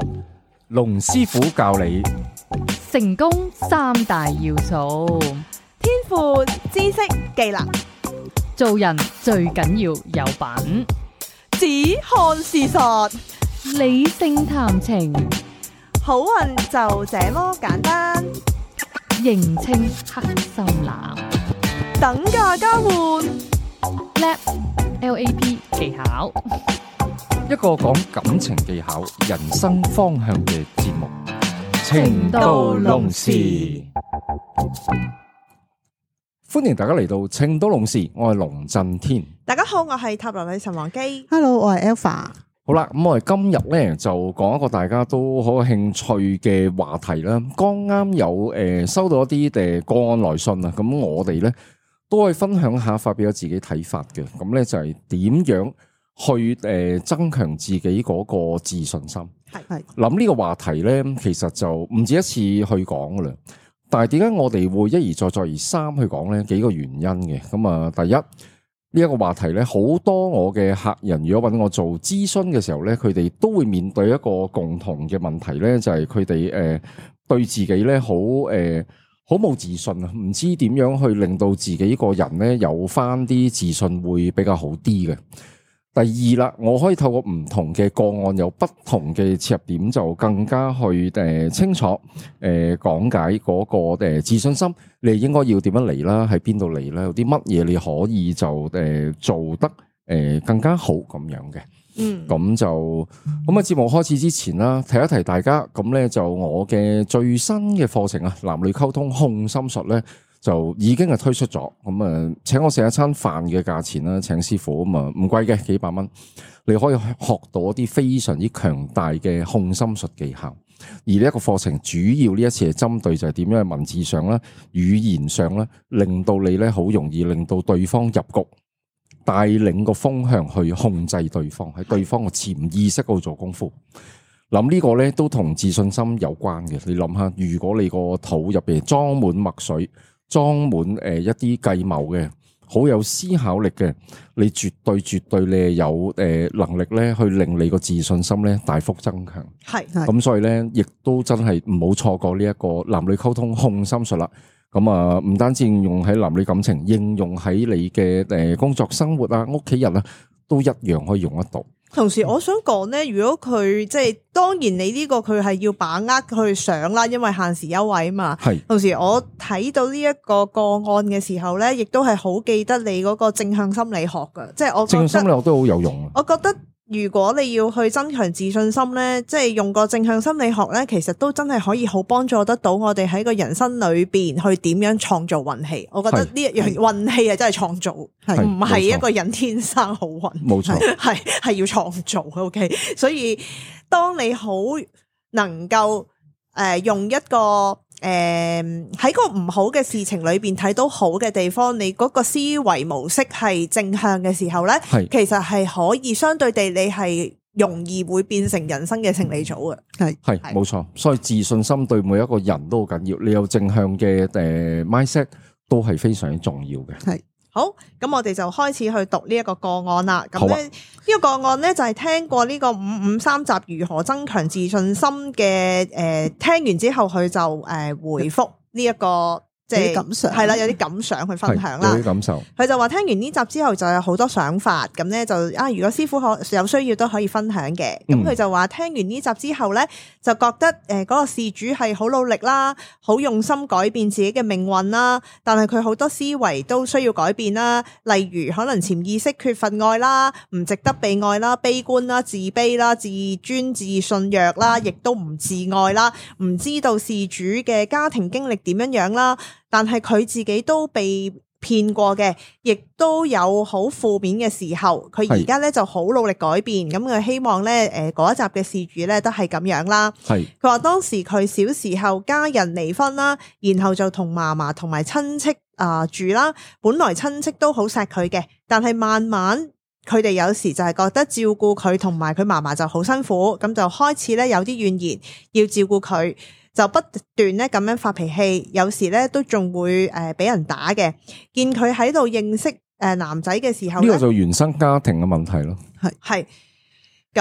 龍師傅教你成功三大要素： 天賦、知識、技能。 做人最緊要有品， 只看事實， 理性談情， 好運就這麼簡單。 認清黑心男， 等價交換 ，LAP 技巧， 一個講感情技巧、人生方向嘅節目。 情到濃時， 歡迎大家嚟到情到濃時，我係龍震天。 大家好，我係塔羅女神王姬。 Hello， 我係 Alpha。 好啦，咁我哋今日咧就講一個大家都好有興趣嘅話題啦。剛啱有收到一啲個案來信啊，咁我哋咧都可以分享下，發表咗自己睇法嘅。咁咧就係點樣去增強自己嗰個自信心。係諗呢個話題咧，其實就唔止一次去講噶啦。但係點解我哋會一而再再而三去講咧？幾個原因嘅。咁啊，第一呢一個話題咧，好多我嘅客人如果揾我做諮詢嘅時候咧，佢哋都會面對一個共同嘅問題咧，就係佢哋對自己咧好冇自信啊，唔知點樣去令到自己個人咧有翻啲自信會比較好啲嘅。第二啦，我可以透過唔同嘅個案，有不同嘅切入點，就更加去清楚講解嗰個自信心，你應該要點樣嚟啦，喺邊度嚟啦，有啲乜嘢你可以就做得更加好咁樣嘅。咁就咁啊！節目開始之前啦，提一提大家，咁咧就我嘅最新嘅課程啊，男女溝通控心術咧，就已經係推出咗。咁啊，請我食一餐飯嘅價錢啦，請師傅咁啊，唔貴嘅，幾百蚊，你可以學到一啲非常之強大嘅控心術技巧。而呢一個課程主要呢一次係針對就係點樣喺文字上啦、語言上啦，令到你咧好容易令到對方入局。帶領個風向去控制對方，喺對方嘅潛意識嗰度做功夫。諗呢個咧都同自信心有關嘅。你諗下，如果你個肚入邊裝滿墨水，裝滿一啲計謀嘅，好有思考力嘅，你絕對你係有能力咧去令你個自信心咧大幅增強。係咁，所以咧亦都真係唔好錯過呢一個男女溝通控心術啦。咁啊，唔單止應用喺男女感情，應用喺你嘅工作生活啊、屋企人啊，都一樣可以用得到。 同時，我想講咧，如果佢即係當然，你呢個佢係要把握去上啦，因為限時優惠啊嘛。係。同時，我睇到呢一個個案嘅時候咧，亦都係好記得你嗰個正向心理學㗎，即係我覺得正向心理學都好有用。 我覺得。如果你要去增強自信心咧，即係用個正向心理學咧，其實都真係可以好幫助得到我哋喺個人生裏邊去點樣創造運氣。我覺得呢一樣運氣係真係創造，唔係一個人天生好運。冇錯，係要創造。OK， 所以當你好能夠用一個喺個唔好嘅事情裏邊睇到好嘅地方，你嗰個思維模式係正向嘅時候咧，其實係可以相對地你係容易會變成人生嘅勝利組嘅。係冇錯，所以自信心對每一個人都好緊要，你有正向嘅mindset 都係非常之重要嘅。係。 好，咁我哋就開始去讀呢一個個案啦。咁咧呢個個案咧就係聽過呢個553集如何增強自信心嘅聽完之後佢就回覆呢一個即係感想，係啦，有啲感想去分享啦。有啲感受，佢就話聽完呢集之後就有好多想法，咁咧就如果師傅有需要都可以分享嘅。咁佢就話聽完呢集之後咧，就覺得嗰個事主係好努力啦，好用心改變自己嘅命運啦，但係佢好多思維都需要改變啦，例如可能潛意識缺乏愛啦，唔值得被愛啦，悲觀啦，自卑啦，自尊自信弱啦，亦都唔自愛啦，唔知道事主嘅家庭經歷點樣樣啦。但係佢自己都被騙過嘅，亦都有好負面嘅時候。佢而家咧就好努力改變，咁佢希望咧嗰一集嘅事主咧都係咁樣啦。係佢話當時佢小時候家人離婚啦，然後就同嫲嫲同埋親戚住啦。本來親戚都好錫佢嘅，但係慢慢佢哋有時就係覺得照顧佢同埋佢嫲嫲就好辛苦，咁就開始咧有啲怨言，要照顧佢。就不斷咧咁樣發脾氣，有時咧都仲會俾人打嘅。見佢喺度認識男仔嘅時候，呢個就原生家庭嘅問題咯。係咁咧，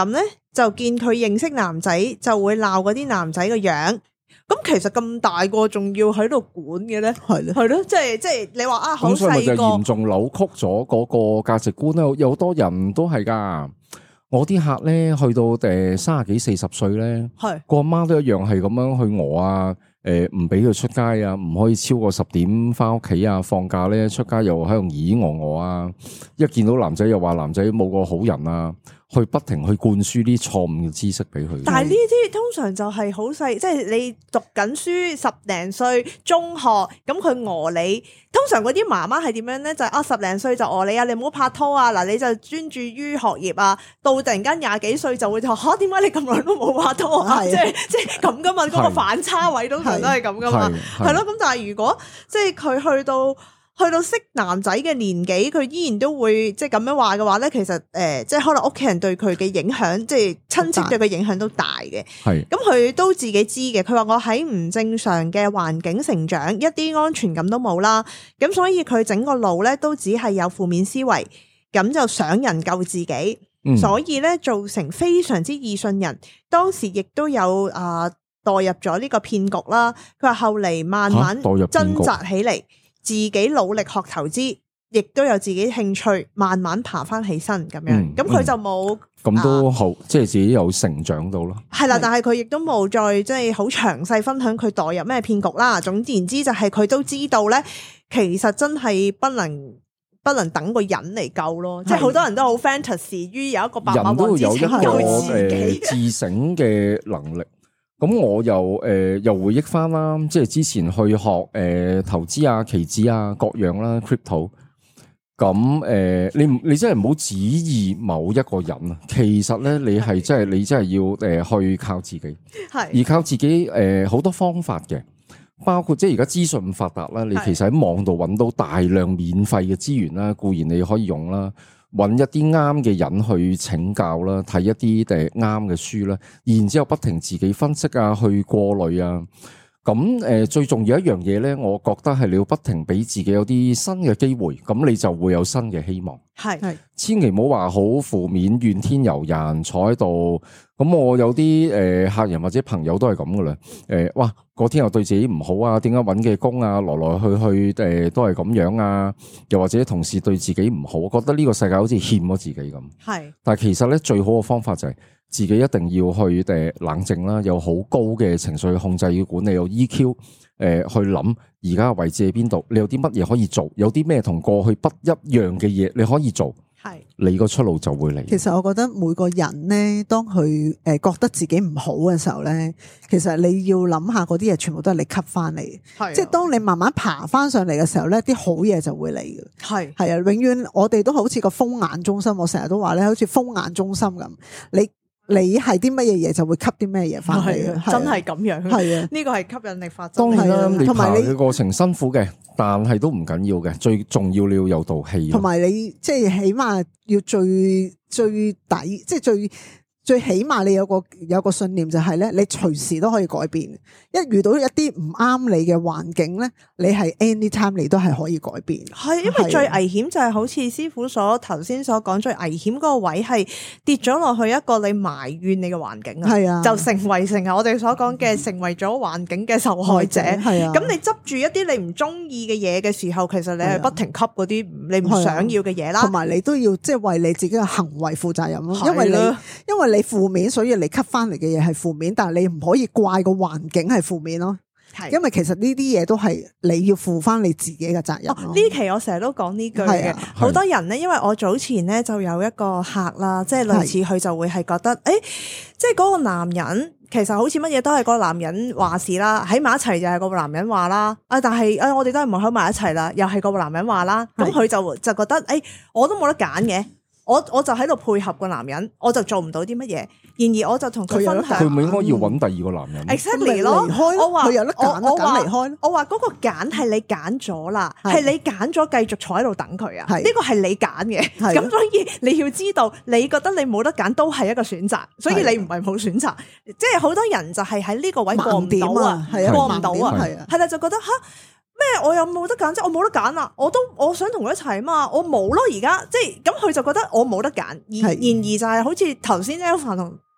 就見佢認識男仔，就會鬧嗰啲男仔個樣。咁其實咁大個仲要喺度管嘅咧，係咯，即係你話啊，好細個，咁所以咪就嚴重扭曲咗嗰個價值觀咧。有好多人都係噶，我啲客咧去到30幾40歲咧，係個阿媽都一樣係咁樣去餓啊。唔俾佢出街啊，唔可以超過10點翻屋企啊，放假咧出街又喺度咦我啊，一見到男仔又話男仔冇個好人啊，去不停去灌輸啲錯誤嘅知識俾佢。但係呢啲通常就係好細，即係你讀緊書10零歲中學，咁佢餓你，通常嗰啲媽媽係點樣咧？就係10零歲就餓你啊，你唔好拍拖啊，嗱你就專注於學業啊，到突然間20幾歲就會話吓，點解你咁耐都冇拍拖啊？即係咁噶嘛，嗰個反差位都係咁噶嘛，係咯。咁但係如果即係佢去到識男仔嘅年紀，佢依然都會即係咁樣話嘅話咧，其實即係可能屋企人對佢嘅影響，即係親戚對佢影響都大嘅。係咁佢都自己知嘅。佢話我喺唔正常嘅環境成長，一啲安全感都冇啦。咁所以佢整個腦咧都只係有負面思維，咁就想人救自己，所以咧造成非常之易信人。當時亦都有墮入咗呢個騙局啦。佢話後嚟慢慢掙扎起嚟，自己努力學投資，亦都有自己興趣，慢慢爬翻起身咁樣。咁佢就冇咁都好，即係自己有成長到咯。係啦，但係佢亦都冇再即係好詳細分享佢墮入咩騙局啦。總言之就係佢都知道咧，其實真係不能等個人嚟救咯。即係好多人都好 fantasy 於有一個百萬王之拯救自己自省嘅能力。咁我又回憶翻啦，即係之前去學投資啊、期指啊各樣啦 crypto。咁你真係唔好指意某一個人啊。其實咧，你真係要去靠自己，係而靠自己好多方法嘅，包括即係而家資訊發達啦，你其實喺網度揾到大量免費嘅資源啦，固然你可以用啦。揾一啲啱嘅人去請教啦，睇一啲啱嘅書啦，然之後不停自己分析啊，去過濾啊。咁最重要一樣嘢咧，我覺得係你要不停俾自己有啲新嘅機會，咁你就會有新嘅希望。係，千祈唔好話好負面、怨天尤人，坐喺度。咁我有啲客人或者朋友都係咁噶啦。哇，嗰天又對自己唔好啊，點解揾嘅工啊，來來去去都係咁樣啊？又或者同事對自己唔好，我覺得呢個世界好似欠咗自己咁。係，但係其實咧，最好嘅方法就係自己一定要去冷靜啦，有好高嘅情緒控制要管理，有 EQ，去諗而家嘅位置喺邊度，你有啲乜嘢可以做，有啲咩同過去不一樣嘅嘢你可以做。係，你個出路就會嚟。其實我覺得每個人咧，當佢覺得自己唔好嘅時候咧，其實你要諗下嗰啲嘢全部都係你吸翻嚟。係，即係當你慢慢爬翻上嚟嘅時候咧，啲好嘢就會嚟嘅。係係啊，永遠我哋都好似個風眼中心，我成日都話咧，好似風眼中心咁，你係啲乜嘢嘢就會吸啲咩嘢翻嚟嘅，真係咁樣。係啊，呢個係吸引力法則。當然啦，你爬嘅過程辛苦嘅，但係都唔緊要嘅。最重要你要有道氣。同埋你即係起碼要最底，即係最起碼你有個信念就係咧，你隨時都可以改變。一遇到一啲唔啱你嘅環境咧，你係 anytime 你都係可以改變。係，因為最危險就係好似師傅頭先所講，最危險嗰個位係跌咗落去一個你埋怨你嘅環境啊，係啊，就成為我哋所講嘅成為咗環境嘅受害者。係啊，咁你執住一啲你唔中意嘅嘢嘅時候，其實你係不停吸嗰啲你唔想要嘅嘢啦。同埋你都要即係為你自己嘅行為負責任咯，因為你負面，所以你吸翻嚟嘅嘢係負面，但係你唔可以怪個環境係負面咯。係，因為其實呢啲嘢都係你要負翻你自己嘅責任。呢期我成日都講呢句嘅，好多人咧，因為我早前咧就有一個客啦，即係類似佢就會係覺得，即係嗰個男人其實好似乜嘢都係個男人話事啦，喺埋一齊就係個男人話啦，但係我哋都係唔喺埋一齊啦，又係個男人話啦，咁佢就覺得，我都冇得揀嘅。我就喺度配合個男人，我就做唔到啲乜嘢。然而我就同佢分享，佢唔應該要揾第二個男人。Exactly 咯，我話佢有得揀，我話離開。我話嗰個揀係你揀咗啦，係你揀咗繼續坐喺度等佢啊。呢個係你揀嘅，咁所以你要知道，你覺得你冇得揀都係一個選擇，所以你唔係冇選擇。即係好多人就係喺呢個位過唔到啊，過唔到啊，係啦，就覺得吓。咩？我又冇得揀，即係我冇得揀啦！我想同佢一齊啊嘛，我冇咯而家，即係咁佢就覺得我冇得揀，然而就係好似頭先 Alpha 同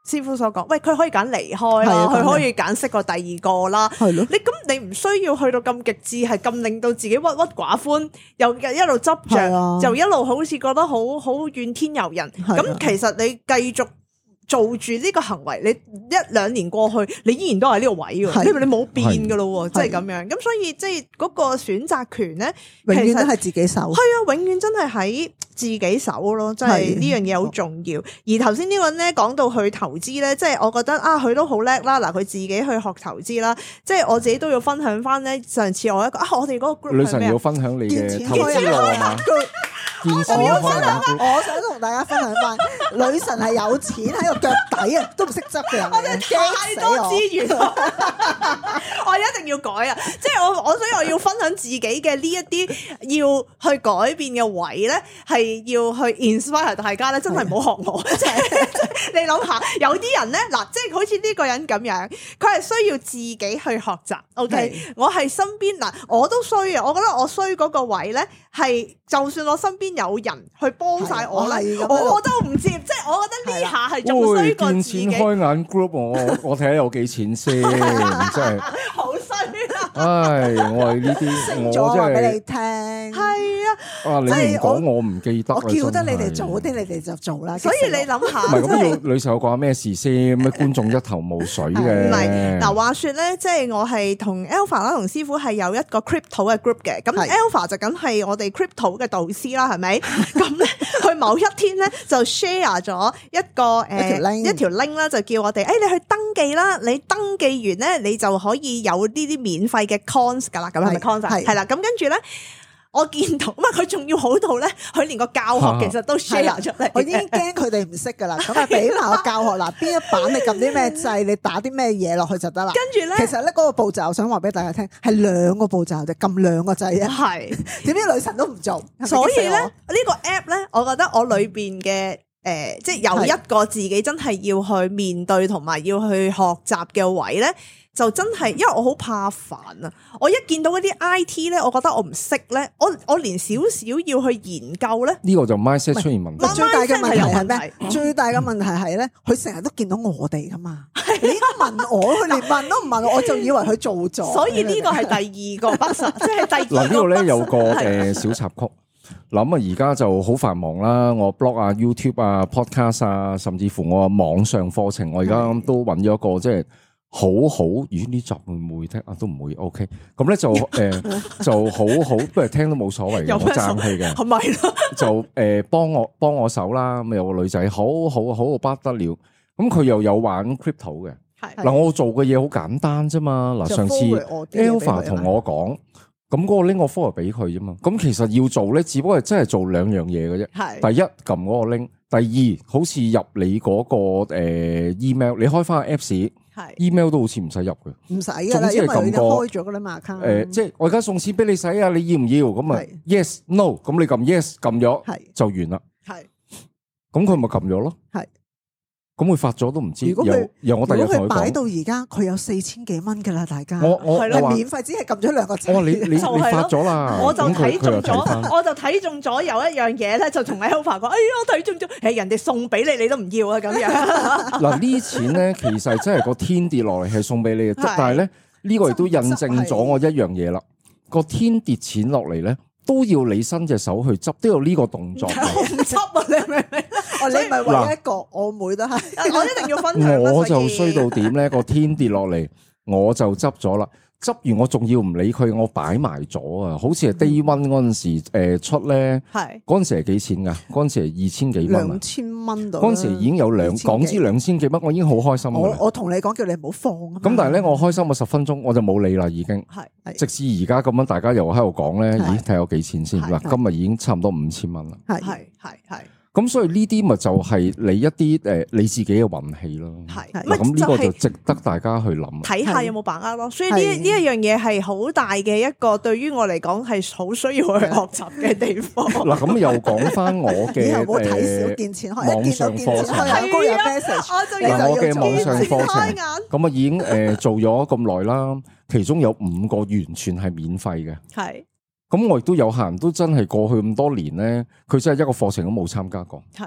師傅所講，喂，佢可以揀離開啦，佢可以揀識個第二個啦。係咯，你唔需要去到咁極致，係咁令到自己鬱鬱寡歡，又一路執着，就一路好似覺得好怨天尤人。咁其實你繼續做住呢個行為，你1-2年過去，你依然都係呢個位嘅，你冇變噶咯，即係咁樣。咁所以即係嗰個選擇權咧， 永遠都係自己手。係啊，永遠真係喺自己手咯，即係呢樣嘢好重要。而頭先呢個人咧講到去投資咧，即係我覺得啊，佢都好叻啦。嗱，佢自己去學投資啦，即係我自己都要分享翻咧。上次我一個我哋嗰個 group 女神要分享你嘅投資路係嘛？我想同大家分享翻，女神係有錢喺個腳底啊，都唔識執嘅人嚟嘅， 太多資源，我一定要改啊！即係所以我要分享自己嘅呢一啲要去改變嘅位咧，係要去 inspire 大家咧，真係唔好學我。即係你諗下，有啲人咧嗱，即係好似呢個人咁樣，佢係需要自己去學習。OK，我係身邊嗱，我都衰啊！我覺得我衰嗰個位咧，係就算我身邊有人去幫晒我咧，我都唔接。即係我覺得呢下係仲衰過自己。 見錢開眼 group， 我睇下有幾錢先，真係好衰啦！ 唉，我係呢啲，我真係俾你聽。 係啊， 你唔講我唔記得。 我叫得你哋做啲，你哋就做啦。 所以你諗下， 唔係咁要女神講咩事先？咩觀眾一頭霧水嘅。 唔係嗱，話說咧，即係我係同 Alpha 啦，同師傅係有一個 crypto 嘅 group 嘅。咁 Alpha 就梗係我哋 crypto 嘅導師啦，係咪？咁咧，佢某一天咧就 share 咗一條 link 啦，就叫我哋你去登記啦。你登記完咧，你就可以有呢啲免費嘅 cons 噶啦。咁係咪 cons？係啦。咁跟住咧，我見到佢仲要好到咧，佢連個教學其實都 share 出嚟。 我已經驚佢哋唔識噶啦，咁啊俾埋個教學嗱，邊一版你撳啲咩掣，你打啲咩嘢落去就得啦。跟住咧，其實咧嗰個步驟，我想話俾大家聽，係2個步驟啫，撳2個掣啊。係，點知女神都唔做， 所以咧呢個 app 咧，我覺得我裏邊嘅即係有一個自己真係要去面對同埋要去學習嘅位咧。就真係，因為我好怕煩啊！我一見到嗰啲 IT 咧，我覺得我唔識咧，我連少少要去研究咧， 呢個就 mindset 出現問題。 最大嘅問題係咩？最大嘅問題係咧，佢成日都見到我哋噶嘛，你應該問我，佢連問都唔問我就以為佢做咗。 所以呢個係第2個不實，即係第2個。 嗱呢度咧有個小插曲。諗啊，而家就好繁忙啦，我 blog 啊、YouTube 啊、podcast 啊，甚至乎我網上課程，我而家都揾咗一個即係。好好，咦？呢集會唔會聽啊？都唔會 OK。咁咧就就好好，不過聽都冇所謂嘅，我爭氣嘅。係咪咯？就幫我手啦。咁有個女仔好不得了。咁佢又有玩 crypto 嘅。係嗱，我做嘅嘢好簡單啫嘛。嗱，上次 Alpha 同我講，咁嗰個 link 我 forward 俾佢啫嘛。咁其實要做咧，只不過係真係做2樣嘢嘅啫。係。第一撳嗰個 link，第二好似入你嗰個email，你開翻個 Apps。係 email 都好似唔使入嘅， 唔使噶啦，因為佢開咗噶啦嘛。 account 即係我而家送錢俾你使啊，你要唔要？咁啊 yes no，咁你撳 yes 撳咗，係就完啦。係，咁佢咪撳咗咯。係，咁佢發咗都唔知。由我第日同佢講， 擺到而家佢有4000幾蚊噶啦，大家我係免費，只係撳咗2個掣。 我話你發咗啦， 我就睇中咗，我就睇中咗有一樣嘢咧，就同 Alpha 講，哎呀，我睇中咗，人哋送俾你，你都唔要啊，咁樣。 嗱呢錢咧，其實真係個天跌落嚟係送俾你嘅，但係咧呢個亦都印證咗我一樣嘢啦。個天跌錢落嚟咧，都要你伸隻手去執，都有呢個動作。 我唔執啊，你明唔明？ 你唔係唯一一個，我妹都係， 我一定要分享。 我就衰到點咧？個天跌落嚟，我就執咗啦。執完我仲要唔理佢，我擺埋咗啊！好似係 Day One 嗰陣時出咧，係嗰陣時係幾錢噶？嗰陣時係2000幾蚊 ，2000蚊度。嗰陣時已經有港紙2000幾蚊，我已經好開心。 我同你講，叫你唔好放啊！ 咁但係咧，我開心個10分鐘，我就冇理啦，已經。係直至而家咁樣，大家又喺度講咧，咦？睇下有幾錢先嗱？今日已經差唔多5000蚊啦。係。咁所以呢啲咪就係你一啲你自己嘅運氣咯。係，咁呢個就值得大家去諗， 睇下有冇把握咯。所以呢一樣嘢係好大嘅一個，對於我嚟講係好需要去學習嘅地方。嗱， 咁又講翻我嘅冇睇少見錢開， 網上課程。 嗱， 我嘅網上課程咁啊已經做咗咁耐啦，其中有5個完全係免費嘅。係。咁我亦都有客人都真係過去咁多年咧，佢真係一個課程都冇參加過。係，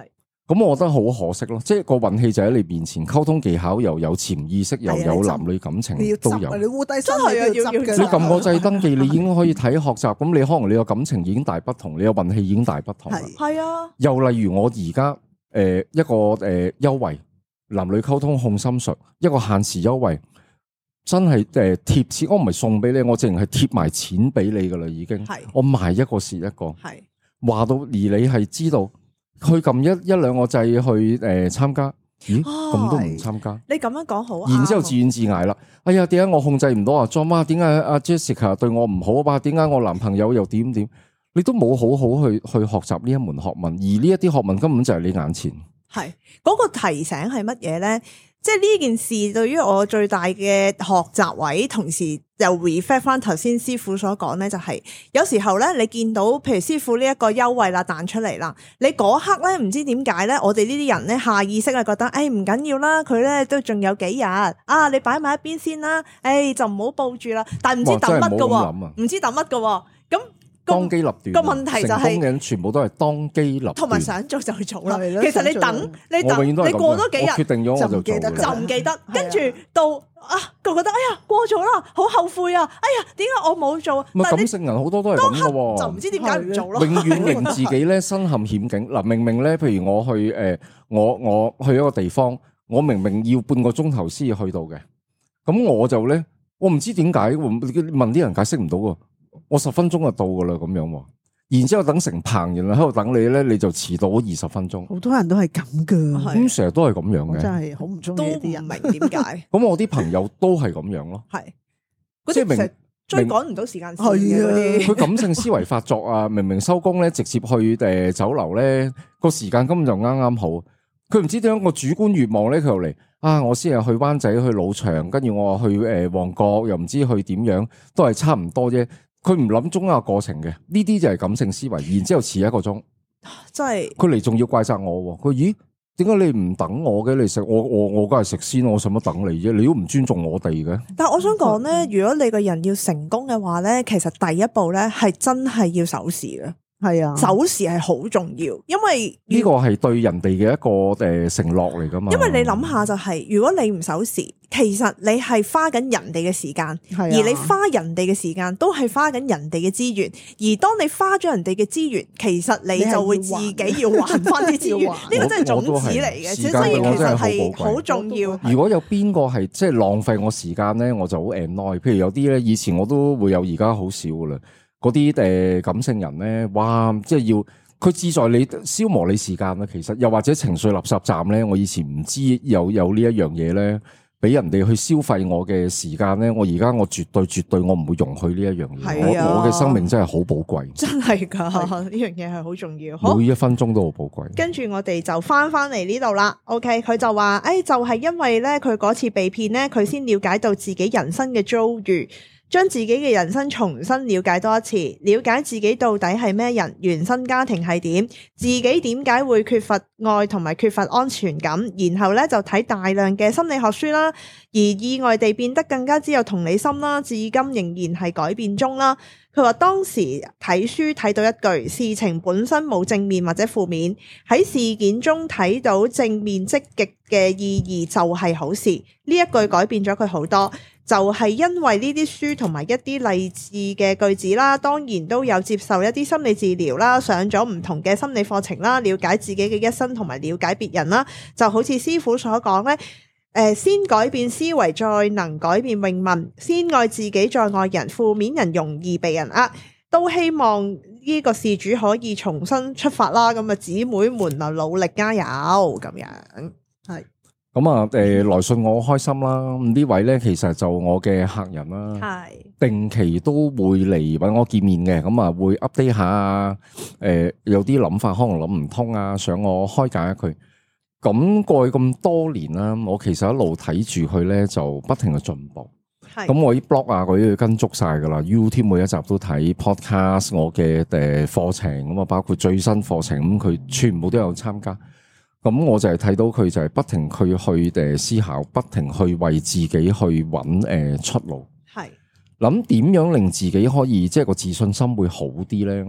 咁我覺得好可惜咯，即係個運氣就喺你面前，溝通技巧又有潛意識，又有男女感情都有。 你烏低身係要執嘅。 你撳個掣登記，你已經可以睇學習。咁你可能你個感情已經大不同，你個運氣已經大不同。 係啊。 又例如我而家一個優惠，男女溝通控心術，一個限時優惠，真係貼錢，我唔係送俾你，我淨係貼埋錢俾你噶啦，已經。我賣一個蝕一個。係話到而你係知道。去撳一兩個掣去參加，咦咁都唔參加？ 你咁樣講好， 然之後自怨自艾啦。哎呀，點解我控制唔到啊？John 媽，點解阿 Jessica 對我唔好啊？點解我男朋友又點？你都冇好好去學習呢一門學問，而呢一啲學問根本就係你眼前。係嗰個提醒係乜嘢咧？即係呢件事對於我最大嘅學習位，同時又 reflect 翻頭先師傅所講咧，就係有時候咧，你見到譬如師傅呢一個優惠啦彈出嚟啦，你嗰刻咧唔知點解咧，我哋呢啲人咧下意識係覺得，誒唔緊要啦，佢咧都仲有幾日啊，你擺埋一邊先啦，誒就唔好報住啦，但係唔知等乜噶，唔知等乜噶，咁。 當機立斷個問題就係成功嘅人全部都係當機立斷，同埋想做就去做啦。其實你等，你過多幾日， 決定咗我就記得，就唔記得。跟住到佢覺得哎呀過咗啦，好後悔啊！哎呀，點解我冇做？ 咪感性人好多都係咁嘅， 就唔知點解唔做咯。 永遠令自己咧身陷險境。嗱，明明咧，譬如我去我去一個地方，我明明要半個鐘頭先至去到嘅，咁我就咧，我唔知點解問啲人解釋唔到喎。我10分鐘就到噶啦，咁樣，然之後等成棚人喺度等你咧，你就遲到20分鐘。好多人都係咁噶， 咁成日都係咁樣嘅， 真係好唔中意啲人， 唔明點解。 咁我啲朋友都係咁樣咯， 係即係明追趕唔到時間線嘅， 佢感性思維發作啊！明明收工咧，直接去酒樓咧，個時間根本就啱啱好。佢唔知點樣個主觀願望咧，佢又嚟啊！我先係去灣仔、去老場，跟住我去旺角，又唔知去點樣，都係差唔多啫。佢唔諗中間過程嘅，呢啲就係感性思維。然之後遲1個鐘， 真係佢嚟仲要怪責我。佢咦？點解你唔等我嘅？你食我梗係食先，我使乜等你啫？你都唔尊重我哋嘅。 但係我想講咧，如果你個人要成功嘅話咧，其實第一步咧係真係要守時嘅。係啊，守時係好重要，因為呢個係對人哋嘅一個承諾嚟噶嘛。 因為你諗下就係，如果你唔守時，其實你係花緊人哋嘅時間，而你花人哋嘅時間都係花緊人哋嘅資源。而當你花咗人哋嘅資源，其實你就會自己要還翻啲資源。呢個真係種子嚟嘅，所以其實係好重要。 如果有邊個係即係浪費我時間咧，我就好 annoy。譬如有啲咧，以前我都會有，而家好少噶啦。嗰啲感性人咧，哇！即係要佢志在你消磨你時間啦。其實又或者情緒垃圾站咧，我以前唔知有呢一樣嘢咧，俾人哋去消費我嘅時間咧。我而家我絕對我唔會容許呢一樣嘢。我嘅生命真係好寶貴， 真係噶，呢樣嘢係好重要。 每一分鐘都好寶貴。 跟住我哋就翻嚟呢度啦。OK，佢就話就係因為咧，佢嗰次被騙咧，佢先了解到自己人生嘅遭遇。將自己嘅人生重新了解多一次，了解自己到底係咩人，原生家庭係點，自己點解會缺乏愛同埋缺乏安全感，然後咧就睇大量嘅心理學書啦，而意外地變得更加之有同理心啦，至今仍然係改變中啦。佢話當時睇書睇到一句，事情本身冇正面或者負面，喺事件中睇到正面積極嘅意義就係好事。呢一句改變咗佢好多，就係因為呢啲書同埋一啲勵志嘅句子啦，當然都有接受一啲心理治療啦，上咗唔同嘅心理課程啦，了解自己嘅一生同埋了解別人啦，就好似師傅所講呢。先改變思維，再能改變命運。先愛自己，再愛人。負面人容易被人呃，都希望呢個事主可以重新出發啦。咁啊，姊妹們啊，努力加油咁樣。係咁啊，來信我好開心啦。呢位咧，其實就我嘅客人啦，係定期都會嚟搵我見面嘅。咁啊，會 update 下有啲諗法可能諗唔通啊，想我開解佢。咁過去咁多年啦，我其實一路睇住佢咧，就不停嘅進步。咁我啲 blog 啊，嗰啲要跟足晒噶啦 ，YouTube 每一集都睇 podcast， 我嘅課程咁啊，包括最新課程咁，佢全部都有參加。咁我就係睇到佢就係不停去思考，不停去為自己去揾出路。係諗點樣令自己可以即係個自信心會好啲咧？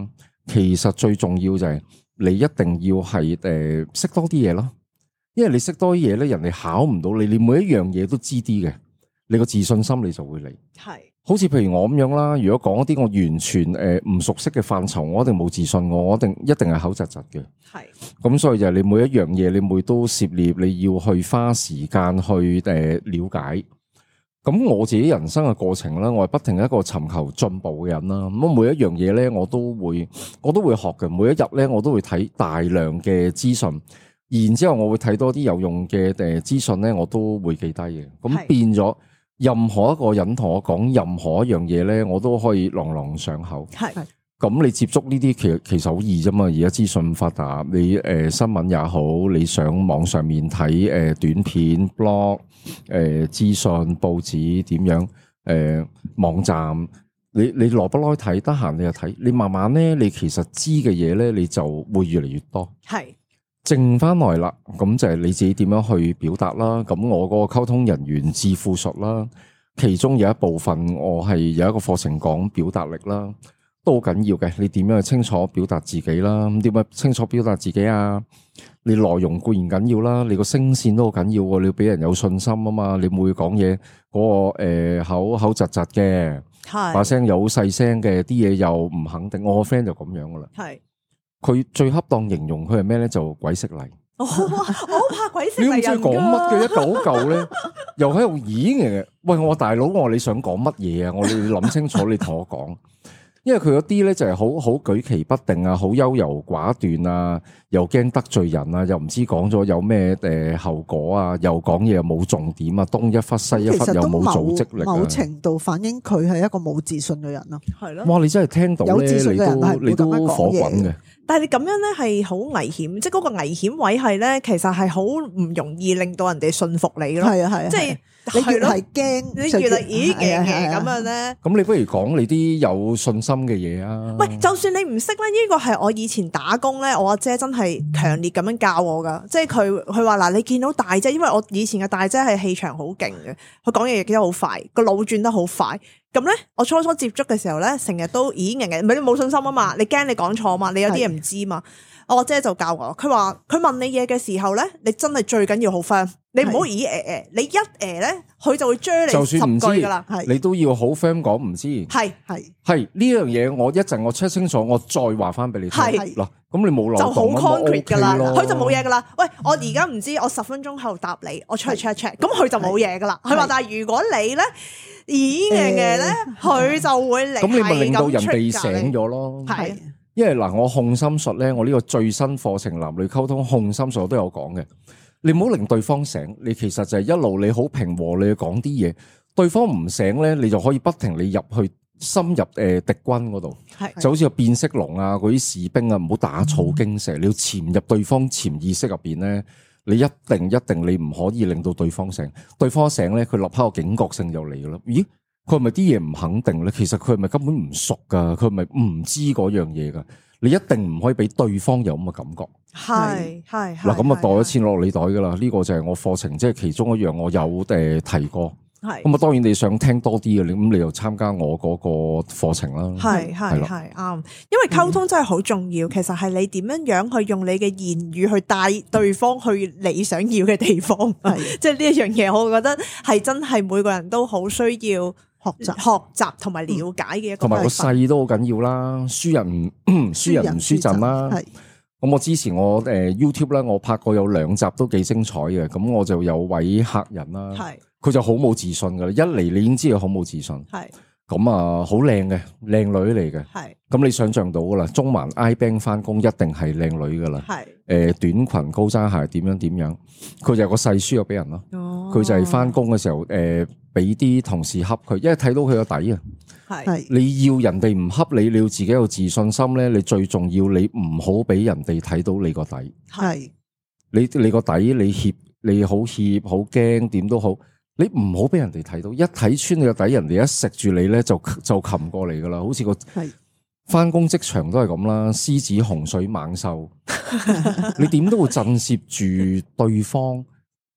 其實最重要就係你一定要係識多啲嘢咯，因為你識多啲嘢咧，人哋考唔到你，你每一樣嘢都知啲嘅，你個自信心你就會嚟。係，好似譬如我咁樣啦，如果講一啲我完全唔熟悉嘅範疇，我一定冇自信，我一定係口窒窒嘅。係，咁所以就係你每一樣嘢，你每都涉獵，你要去花時間去了解。咁我自己人生嘅過程啦，我係不停一個尋求進步嘅人啦。咁每一樣嘢咧，我都會學嘅。每一日咧，我都會睇大量嘅資訊，然之後我會睇多啲有用嘅資訊咧，我都會記低嘅。咁變咗，任何一個人同我講任何一樣嘢咧，我都可以朗朗上口。係。咁你接觸呢啲其實好易啫嘛，而家資訊發達，你新聞也好，你上網上面睇短片、blog、資訊、報紙點樣網站，你耐不耐睇，得閒你就睇，你慢慢咧，你其實知嘅嘢咧，你就會越嚟越多。係，剩翻來啦，咁就係你自己點樣去表達啦。咁我嗰個溝通人員致富術啦，其中有一部分我係有一個課程講表達力啦。都好緊要嘅，你點樣去清楚表達自己啦？咁點樣清楚表達自己啊？你內容固然緊要啦，你個聲線都好緊要喎，你要俾人有信心啊嘛！你每講嘢嗰個口窒窒嘅，把聲又好細聲嘅，啲嘢又唔肯定。我個 friend 就咁樣噶啦，係佢最恰當形容佢係咩咧？就鬼識嚟。我好怕鬼識嚟人㗎。你唔知講乜嘅一嚿咧，又喺度演嘅。喂，我大佬，我你想講乜嘢啊？我你諗清楚，你同我講。因為佢嗰啲咧就係好舉棋不定啊，好優柔寡斷啊，又驚得罪人啊，又唔知講咗有咩後果啊，又講嘢又冇重點啊，東一忽西一忽又冇組織力啊， 某程度反映佢係一個冇自信嘅人咯。係咯。哇！ 你真係聽到咧，你都火滾嘅。 但係你咁樣咧係好危險，即係嗰個危險位係咧，其實係好唔容易令到人哋信服你咯。係啊係啊，即係。你越係驚，你越嚟嘅咁樣咧。咁你不如講你啲有信心嘅嘢啊！ 喂，就算你唔識咧，呢個係我以前打工咧，我阿姐真係強烈咁樣教我噶。即係佢話嗱，你見到大姐，因為我以前嘅大姐係氣場好勁嘅，佢講嘢亦都好快，個腦轉得好快。咁咧，我初初接觸嘅時候咧，成日都咦嘅，唔係你冇信心啊嘛，你驚你講錯嘛，你有啲嘢唔知嘛。我姐就教我，佢話佢問你嘢嘅時候咧，你真係最緊要好 firm，你唔好咦你一咧，佢就會追你10句噶啦， 你都要好 firm 講唔知，係呢樣嘢，我一陣我 check 清楚，我再話翻俾你聽。嗱，咁你冇漏洞就好 concrete 噶啦，佢就冇嘢噶啦。喂，我而家唔知，我10分鐘後答你，我出去 check，咁佢就冇嘢噶啦。佢話但係如果你咧咦嘅咧，佢就會嚟，咁你咪令到人哋醒咗咯。係。因為嗱，我控心術咧，我呢個最新課程男女溝通控心術我都有講嘅。你唔好令對方醒，你其實就係一路你好平和，你去講啲嘢，對方唔醒咧，你就可以不停你入去深入敵軍嗰度，就好似個變色龍啊，嗰啲士兵啊，唔好打草驚蛇，你要潛入對方潛意識入邊咧，你一定你唔可以令到對方醒，對方一醒咧，佢立刻個警覺性就嚟噶啦。咦？佢係咪啲嘢唔肯定咧？其實佢係咪根本唔熟噶？佢係咪唔知嗰樣嘢噶？你一定唔可以俾對方有咁嘅感覺。係嗱，咁啊袋咗錢落你袋噶啦。呢個就係我課程即係其中一樣，我有提過。係咁啊，當然你想聽多啲嘅，咁你又參加我嗰個課程啦。係啱， 因為溝通真係好重要。其實係你點樣去用你嘅言語去帶對方去你想要嘅地方。係即係呢一樣嘢，我覺得係真係每個人都好需要。學習同埋了解嘅一個， 同埋個勢都好緊要啦。輸人唔輸陣啦。咁我之前我YouTube 咧，我拍過有2集都幾精彩嘅。咁我就有位客人啦，佢就好冇自信噶啦。一嚟你已經知佢好冇自信。咁啊，好靚嘅靚女嚟嘅。咁你想象到噶啦，中環 iBank 翻工一定係靚女噶啦。短裙高踭鞋點樣，佢就有個勢輸咗俾人咯。佢就係翻工嘅時候俾啲同事恰佢，因為睇到佢個底啊。你要人哋唔恰你，你要自己有自信心咧。你最重要，你唔好俾人哋睇到你個底。你個底，你好怯好驚，點都好。你唔好俾人哋睇到，一睇穿你個底，人哋一食住你咧，就擒過嚟噶啦。好似個翻工職場都係咁啦，獅子洪水猛獸，你點都會震懾住對方。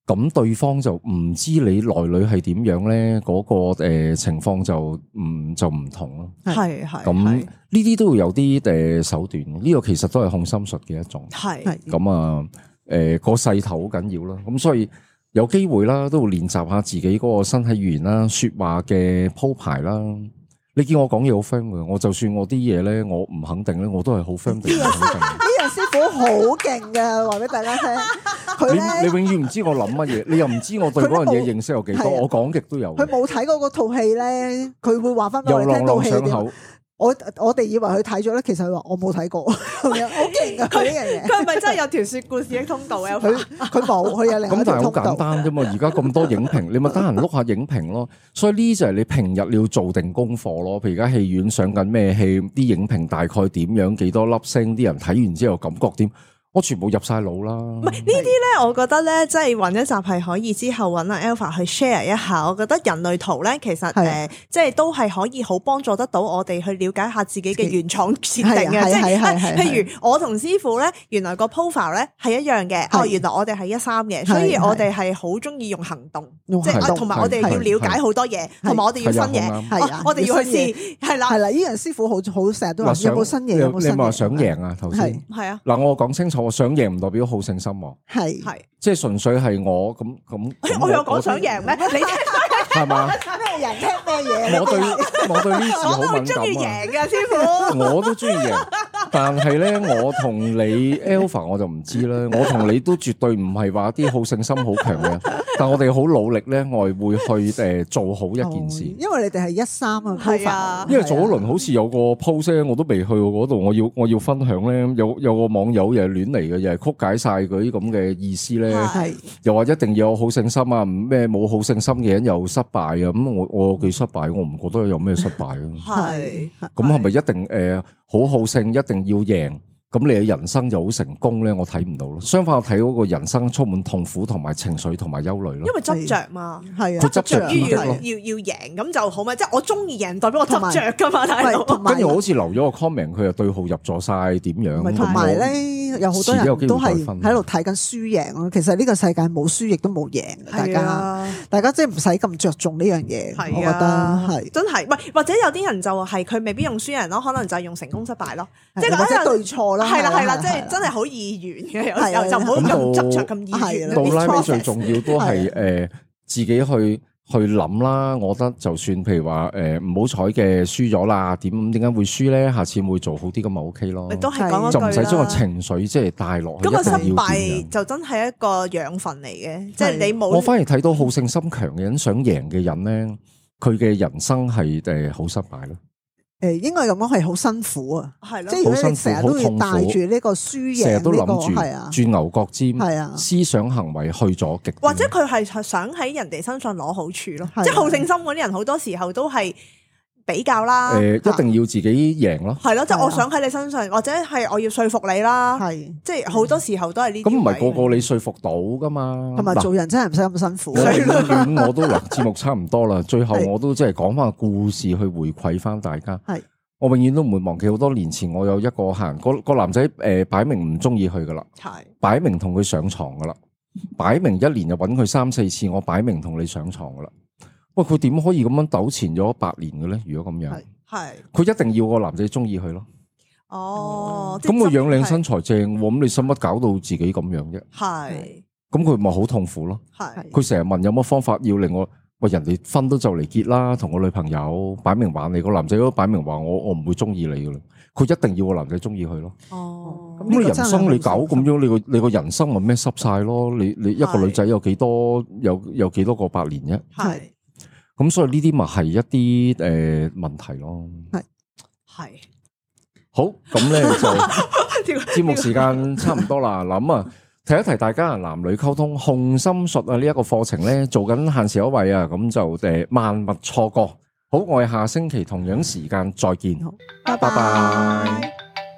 咁對方就唔知你內裏係點樣咧，嗰個情況就唔同咯。 係咁呢啲都會有啲手段，呢個其實都係控心術嘅一種。係咁啊，個勢頭好緊要啦。咁所以有機會啦，都會練習下自己嗰個身體語言啦、說話嘅鋪排啦。你見我講嘢好 firm 嘅，我就算我啲嘢咧，我唔肯定咧，我都係好 firm 定唔肯定。 呢個師傅好勁嘅，話俾大家聽。 你永遠唔知我諗乜嘢，你又唔知我對嗰樣嘢認識有幾多，我講極都有。 佢冇睇過嗰套戲咧，佢會話翻俾我哋聽套戲點。我哋以為佢睇咗咧，其實佢話我冇睇過，好勁啊！佢呢樣嘢， 佢係咪真係有條說故事的通道啊？ 佢冇，佢有另一條通道。咁但係好簡單啫嘛！而家咁多影評，你咪得閒碌下影評咯。所以呢就係你平日你要做定功課咯。譬如而家戲院上緊咩戲，啲影評大概點樣，幾多粒星，啲人睇完之後感覺點？我全部入晒腦啦。唔係呢啲咧， 我覺得咧，即係揾一集係可以之後揾阿 Alpha 去 share 一下。我覺得人類圖咧，其實即係都係可以好幫助得到我哋去了解下自己嘅原廠設定嘅。即係譬如我同師傅咧，原來個 profile 咧係一樣嘅。哦，原來我哋係13嘅，所以我哋係好中意用行動，即係同埋我哋要了解好多嘢，同埋我哋要新嘢。係我哋要去試。係啦， 係啦，呢樣師傅好成日都話有冇新嘢，有冇新嘢。 你話想贏啊？頭先係啊。 嗱，我講清楚。我想贏唔代表好勝心喎，係，即係純粹係我咁。 我有講想贏咩？你係嘛？ 咩人聽咩嘢？ 我對呢字好敏感啊！ 我都中意贏嘅師傅， 我都中意贏，但係咧，我同你 Alpha 我就唔知啦。我同你都絕對唔係話啲好勝心好強嘅，但我哋好努力咧，我係會去做好一件事。因為你哋係13啊，係啊。 因為早一輪好似有個 post 我都未去過嗰度，我要分享咧，有個網友又係亂嚟嘅，又係曲解晒嗰啲咁嘅意思咧，又話一定要有好勝心啊，咩冇好勝心嘅人又失敗啊，咁我幾失敗，我唔覺得有咩失敗啊。係，咁係咪一定好勝，一定要贏？咁你嘅人生就好成功咧？我睇唔到咯。相反，我睇嗰個人生充滿痛苦同埋情緒同埋憂慮咯。因為執着嘛，係啊， 佢執着於要贏咁就好嘛。即係我中意贏，代表我執着噶嘛。 跟住我好似留咗個 comment， 佢又對號入座晒點樣？ 同埋咧，有好多人都係喺度睇緊輸贏咯。其實呢個世界冇輸亦都冇贏，大家即係唔使咁着重呢樣嘢。我覺得係真係，或者有啲人就係佢未必用輸贏咯，可能就係用成功失敗咯，即係或者對錯啦。 係啦，即係真係好易元嘅，有時候就唔好咁執着咁易元。 到拉尾最重要都係自己去諗啦。我覺得就算譬如話唔好彩嘅輸咗啦，點解會輸咧？下次會做好啲咁咪 OK 咯。 都係講就唔使將個情緒即係帶落去。 咁個失敗就真係一個養分嚟嘅，即係你冇。 我反而睇到好勝心強嘅人、想贏嘅人咧，佢嘅人生係好失敗咯。 應該咁講係好辛苦啊，係咯，即係如果你成日都要帶住呢個輸贏， 成日都諗住係啊， 轉牛角尖， 係啊， 思想行為去咗極， 或者佢係想喺人哋身上攞好處咯，即係好勝心嗰啲人好多時候都係比較啦， 一定要自己贏咯， 係咯，即係我想喺你身上，或者係我要說服你啦，係，即係好多時候都係呢啲。咁唔係個個你說服到噶嘛？ 同埋做人真係唔使咁辛苦。 我都節目差唔多啦，最後我都即係講翻個故事去回饋翻大家。係。我永遠都唔會忘記好多年前我有一個客人，個男仔擺明唔中意佢噶啦，係擺明同佢上床噶啦，擺明一年就揾佢3、4次，我擺明同你上床噶啦。喂，佢點可以咁樣糾纏咗8年嘅咧？如果咁樣，係佢一定要個男仔中意佢咯。哦，咁佢樣靚身材正，咁你使乜搞到自己咁樣啫？係，咁佢咪好痛苦咯？係，佢成日問有乜方法要令我。喂，人哋婚都就嚟結啦，同個女朋友擺明玩你，個男仔都擺明話我唔會中意你噶啦，佢一定要個男仔中意佢咯。哦，咁你人生你搞咁樣，你個人生咪咩濕晒咯？你一個女仔有幾多個8年啫？係，咁所以呢啲咪係一啲問題咯。係，好，咁咧就節目時間差唔多啦，諗啊。提一提大家男女溝通控心術啊，呢一個課程咧做緊限時優惠啊，咁就萬勿錯過。好，我哋下星期同樣時間再見，拜拜。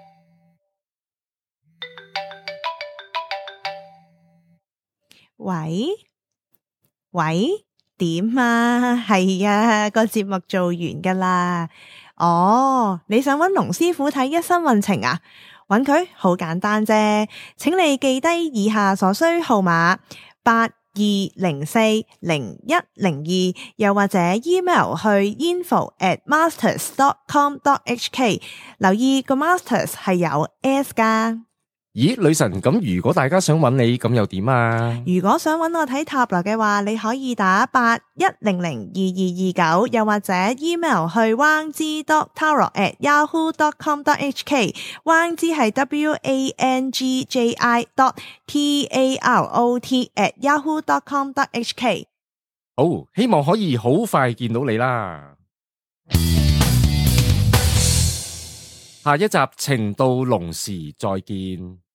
喂，點啊？係啊，個節目做完噶啦。哦，你想揾龍師傅睇一生運程啊？揾佢好簡單啫，請你記低以下所需號碼 82040102，又或者 email 去 info@masters.com.hk， 留意個 masters 係有 S 噶。 咦，女神，咁如果大家想揾你，咁又點啊？ 如果想揾我睇塔羅嘅話，你可以打81002229，又或者 email 去 wangji.tarot@yahoo.com.hk， wangji 係 WANGJI.TAROT@yahoo.com.hk。 好，希望可以好快見到你啦。下一集情到濃時再見。